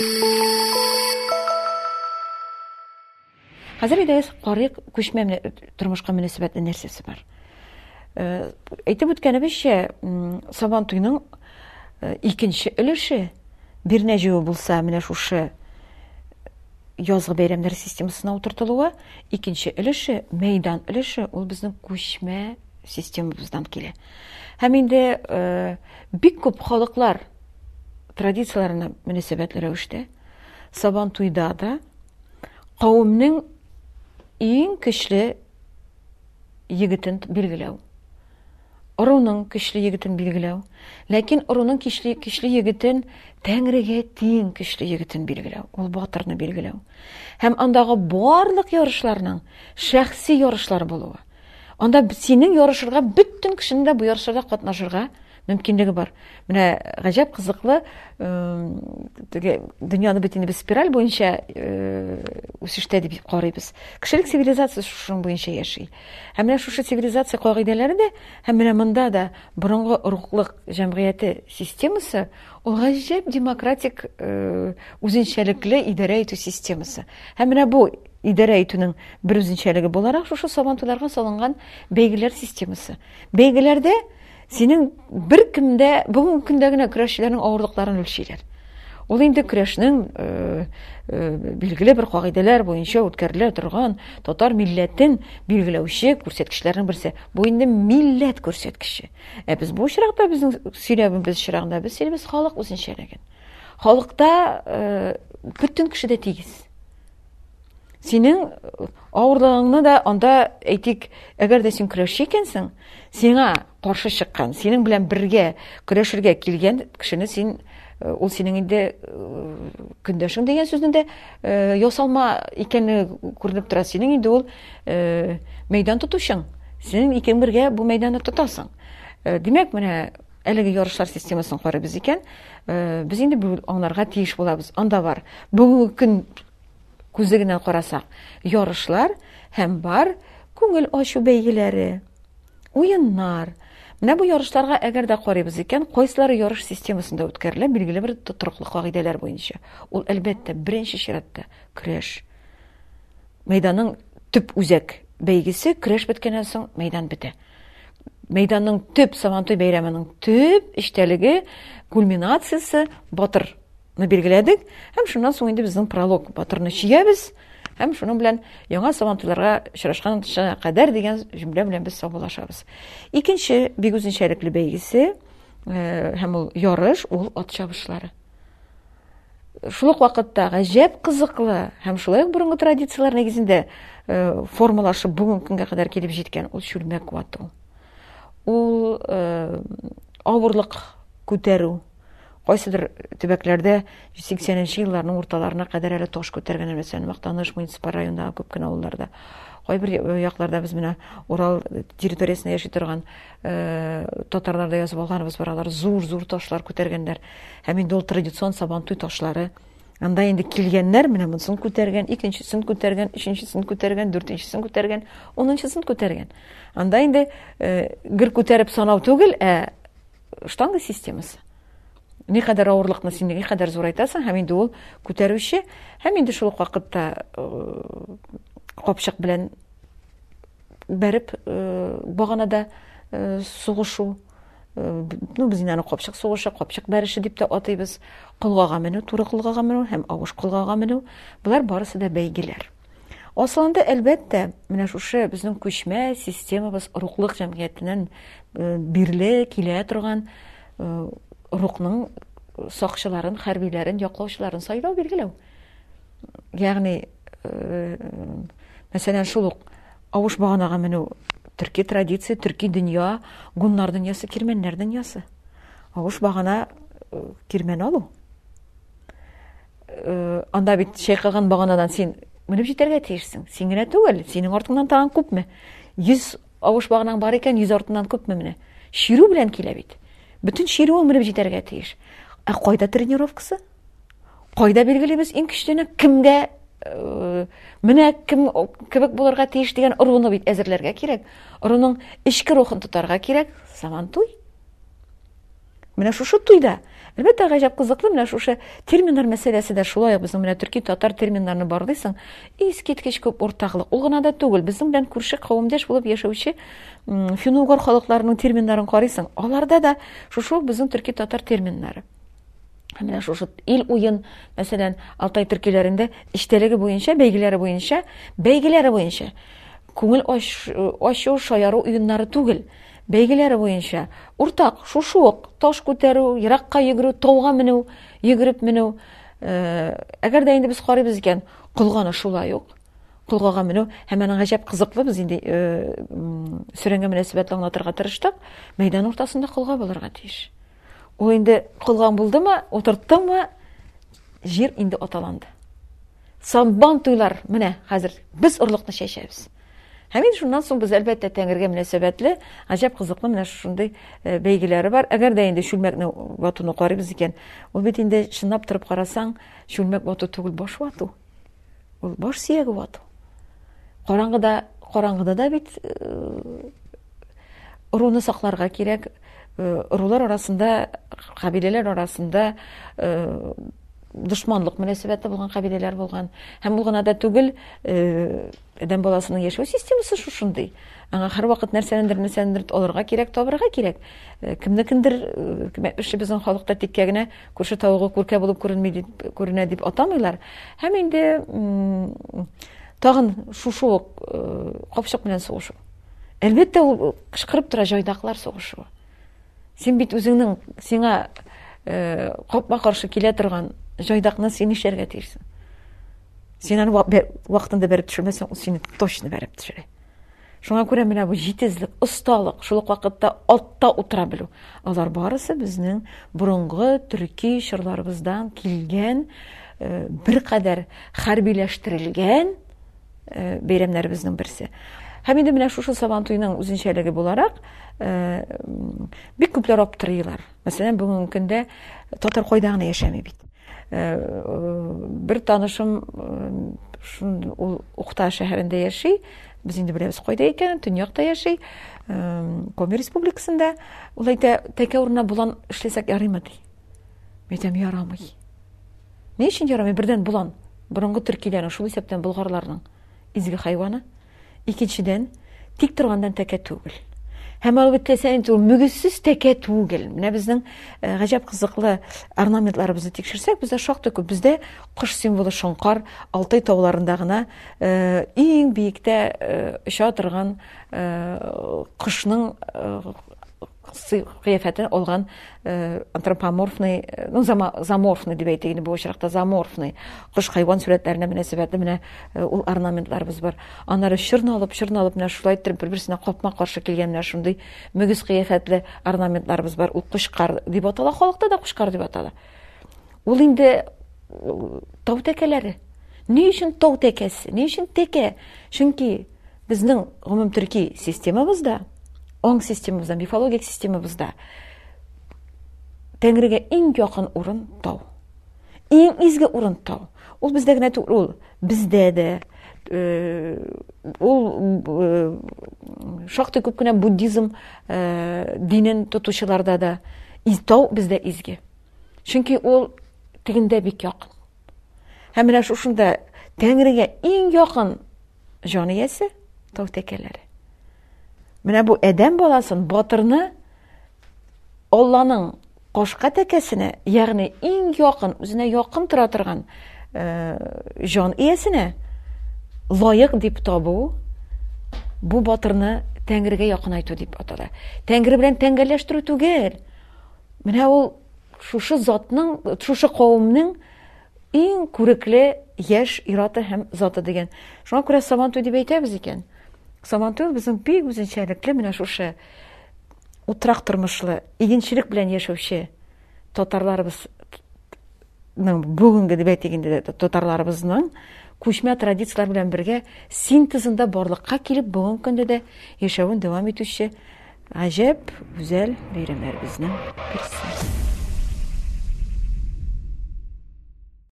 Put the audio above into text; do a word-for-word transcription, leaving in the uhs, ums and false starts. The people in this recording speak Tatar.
Хәзер идә карык күчмә тормышка мөнәсәбәтле нәрсәсе бар. Әйтеп үткәнебезчә, Сабан туйның икенче өлеше бер нәҗү булса, менә шушы язгы бәйрәмнәр системасына утыртылуы, икенче өлеше, мәйдан өлеше, ул безнең күчмә системабыздан килә. Һәм инде бик күп халыклар традицияләренә мөнәсәбәтле рәвештә Сабан туйда да кавымның иң көчле егетен билгеләү. Оруның көчле егетен билгеләү. Ләкин оруның көчле көчле егетен Тәңрегә тиң көчле егетен билгеләү. Ул батырны билгеләү. Һәм андагы барлык ярышларның шәхси ярышлар булуы. Анда синең ярышырга бөтен кешенең дә бу ярышларда катнашырга мөмкинлеге бар. Менә гаҗәп кызыклы, дөньяны бит инде без спираль буенча үсештә дип карыйбыз. Кешелек цивилизациясе шуның буенча яши. Һәм менә шушы цивилизация кагыйдәләре дә, һәм менә монда да борынгы рухлык җәмгыяте системасы, ул гаҗәп демократик үзенчәлекле идарә итү системасы. Һәм менә бу идарә итүнең бер үзенчәлеге буларак шушы Сабан туйларга салынган бәйгеләр системасы. Бәйгеләрдә синең бер кемдә бүгенге көндә генә көрәшчеләрнең авырлыкларын үлчиләр. Ул инде көрәшнең билгеле бер кагыйдәләр буенча үткәрелә торган татар милләтен билгеләүче күрсәткечләрнең берсе. Бу инде милләт күрсәткече. Ә без бу очракта безнең сөйләбебез чирагында без сөйлибез халык үзенчәлеген. Халыкта бөтен кеше дә тигез. Синең авырлыгыңны да анда әйтик, әгәр дә син көрәшче икәнсең, сиңа каршы чыккан, синең белән бергә көрәшергә килгән кешене син, ул синең инде көндәшең дигән сүзнең дә ясалма икәнне күренеп тора. Синең инде ул мәйдан тотучың. Син икән бергә бу мәйданны тотасың. Димәк, менә әлеге ярышлар системасын карыйбыз икән, без инде бу аңларга тиеш булабыз. Анда бар. Бүгенге көн күзлегеннән карасак, ярышлар һәм бар күңел ачу бәйгеләре, уеннар. Менә бу ярышларга әгәр дә карыйбыз икән, кайсылары ярыш системасында үткәрелә, билгеле бер тотрыклы кагыйдәләр буенча. Ул әлбәттә беренче чиратта көрәш. Мәйданның төп үзәк бәйгесе, көрәш беткәннән соң мәйдан бетә. Мәйданның төп Сабан туй бәйрәменең төп эчтәлеге, кульминациясе батыр. Мы билгеләдек, һәм шуннан соң инде безнең пролог батырны чиябез, һәм шуның белән яңа Сабан туйларга очрашканча кадәр дигән җөмлә белән без саубуллашабыз. Икенче бик үзенчәлекле бәйгесе, һәм ул ярыш, ул ат чабышлары. Шул ук вакытта гаҗәп кызыклы һәм шулай ук борынгы традицияләр нигезендә формалашып бүгенге көнгә кадәр килеп җиткән ул чүлмәк вату. Ул авырлык күтәрү. Кайсыдыр төбәкләрдә сиксәненче елларның урталарына кадәр әле таш күтәргән, мәсәлән, Мактаныш муниципаль районындагы күп кенә авылларда. Кайбер якларда без менә Урал территориясендә яши торган татарларда язып алганбыз, баралар зур-зур ташлар күтәргәннәр. Һәм инде ул традицион Сабан туй ташлары. Анда инде килгәннәр менә монысын күтәргән, икенчесен күтәргән, өченчесен күтәргән, дүртенчесен күтәргән, унынчысын күтәргән. Анда инде гер күтәреп санау түгел, ә штанга системасы. Никадәр авырлыкны син никадәр зурайтасың, һәм инде ул күтәрүче, һәм инде шул вакытта капчык белән бәреп баганада сугышу. Ну, без инде аны капчык сугышы, капчык бәреше дип тә атыйбыз. Кылгага менү, туры кылгага менү һәм авыш кылгага менү. Булар барысы да бәйгеләр. Асылында әлбәттә, менә шушы безнең күчмә системабыз рухлык җәмгыятеннән бирле килә торган рухның сакчыларын, хәрбиләрен, яклаучыларын сайлау билгеләү. Ягъни, мәсәлән, шул ук авыш баганага менү төрки традиция, төрки дөнья, гуннар дөньясы, кирмәннәр дөньясы. Авыш багана кирмән алу. Анда бит чайкаган баганадан син менеп җитәргә тиешсең. Син генә түгел, синең артыңнан тагын күпме? йөз авыш баганаң бар икән, йөз артыннан күпме менә? Ширу белән килә бит. Bütün şiiri ol menеп җитәргә тиеш. Ә кайда тренировкасы? Кайда билгелебез иң көчлене кемгә менә кем кебек булырга тиеш дигән оруны бит әзерләргә кирәк. Оруның ичке рухын тотарга кирәк. Сабан туй. Менә шушы туйда Әлбәттә, гаҗәп кызыклы менә шушы терминнар мәсьәләсе дә шулай ук безнең менә төрки татар терминнарны барлыйсың, искиткеч күп уртаклык. Ул гына да түгел, безнең белән күрше кавемдәш булып яшәүче фин-угыр халыкларының терминнарын карыйсың. Аларда да шушы безнең төрки татар терминнары. Менә шушы ил уен, мәсәлән, Алтай төркиләрендә иштәлеге буенча, бәйгеләре буенча, бәйгеләре буенча күңел ачу, шаяру уеннары түгел. Бәйгеләре буенча уртак, шушы ук таш күтәрү, еракка йөгерү, тауга менү, йөгереп менү. Әгәр дә инде без карыйбыз икән, кылганы шулай ук. Кылгага менү һәм аның гаҗәп кызыклы, без инде сөрәнгә мөнәсәбәтле аңлатырга тырыштык. Мәйдан уртасында кылга булырга тиеш. Ул инде кылган булдымы, утырттыңмы, җир инде аталанды. Сабан туйлар, менә хәзер без орлыкны чәчәбез. Һәм инде шуннан соң без әлбәттә Тәңрегә мөнәсәбәтле гаҗәп кызыклы менә шундый бәйгеләре бар. Әгәр дә инде чүлмәкне ватуны карыйбыз икән, ул бит инде чынлап торып карасаң, чүлмәк вату түгел, баш вату. Ул баш сөяге вату. Караңгыда, караңгыда да бит руны сакларга кирәк. Рулар арасында, кабиләләр арасында дошманлык мөнәсәбәте булган кабиләләр булган. Һәм ул гына да түгел, адәм баласының яшәү системасы шушындый. Аңа һәр вакыт нәрсәнендер, нәрсәнендер алырга кирәк, табырга кирәк. Кемнекендер, эше безнең халыкта тиккә генә күрше тавыгы күркә булып күренми дип, күренә дип атамыйлар. Һәм инде тагын шушы ук капчык белән сугышу. Әлбәттә, ул кычкырып тора җайдакылар сугышу. Син бит үзеңнең сиңа капма каршы килә торган җайдакны син нишләргә тиешсең. Син аны вакытында бәреп төшермәсәң, ул сине точно бәреп төшерә. Шуңа күрә менә бу җитезлек, осталык, шул ук вакытта атта утыра белү. Алар барысы безнең борынгы төрки чырларыбыздан килгән, бер кадәр хәрбиләштерелгән бәйрәмнәребезнең берсе. Һәм инде менә шушы Сабан туеның үзенчәлеге буларак, бик күпләр аптырыйлар. Мәсәлән, бүгенге көндә татар кайда гына яшәми бит. Бер танышым ул Ухта шәһәрендә яши. Без инде беләбез кайда икән, Төньякта яши. Коми республикасында. Ул әйтә, тәкә урынына булан эшләсәк ярыймы ди. Әйтәм, ярамый. Ни өчен ярамый? Бердән булан, борынгы төркиләрнең, шул исәптән болгарларның изге хайваны. Икенчедән, тик торгандан тәкә түгел. Һәм албәттә инде ул мөгезсез тәкә түгел. Менә безнең гаҗәп кызыклы орнаментларыбызны тикшерсәк, бездә шактый күп. Бездә кош символы шоңкар, Алтай тауларында гына иң биектә оча торган кошның кыяфәтен алган антропоморфный, ну, заморфный дип әйтик, бу очракта заморфный кош хайван сүрәтләренә мөнәсәбәтле менә ул орнаментларыбыз бар. Аннары чырналып, чырналып менә шулай итеп бер-берсенә капма каршы килгән менә шундый мөгез кыяфәтле орнаментларыбыз бар. Ул кушкар дип атала, халыкта да кушкар дип атала. Ул инде тау тәкәләре. Ни өчен тау тәкәсе? Ни өчен тәкә? Чөнки безнең гомум төрки системабызда, оң системабызда, мифологик системабызда Тәңрегә иң якын урын тау. Иң изге урын тау. Ул бездә генә түгел, ул бездә дә, ул шактый күп кенә буддизм динен тотучыларда да тау бездә изге. Чөнки ул тегендә бик якын. Һәм менә шушында Тәңрегә иң якын җан иясе тау тәкәләре. Менә бу адәм баласын, батырны Алланың кашка тәкәсенә, ягъни иң якын, үзенә якын тора торган җан иясенә лаек дип табу, бу батырны Тәңрегә якын айту дип атала. Тәңре белән тәңгәлләштерү түгел. Менә ул шушы затның, шушы кавемнең иң күрекле яшь ираты һәм заты дигән. Шуңа күрә Сабан туй дип әйтәбез икән. Сабан туй безнең бик үзенчәлекле менә шушы утрак тормышлы, игенчелек белән яшәүче татарларыбызның бүгенге дип әйтик инде татарларыбызның күчмә традициялар белән бергә синтезында барлыкка килеп бүгенге көндә дә яшәвен дәвам итүче гаҗәп гүзәл бәйрәмнәребезнең берсе.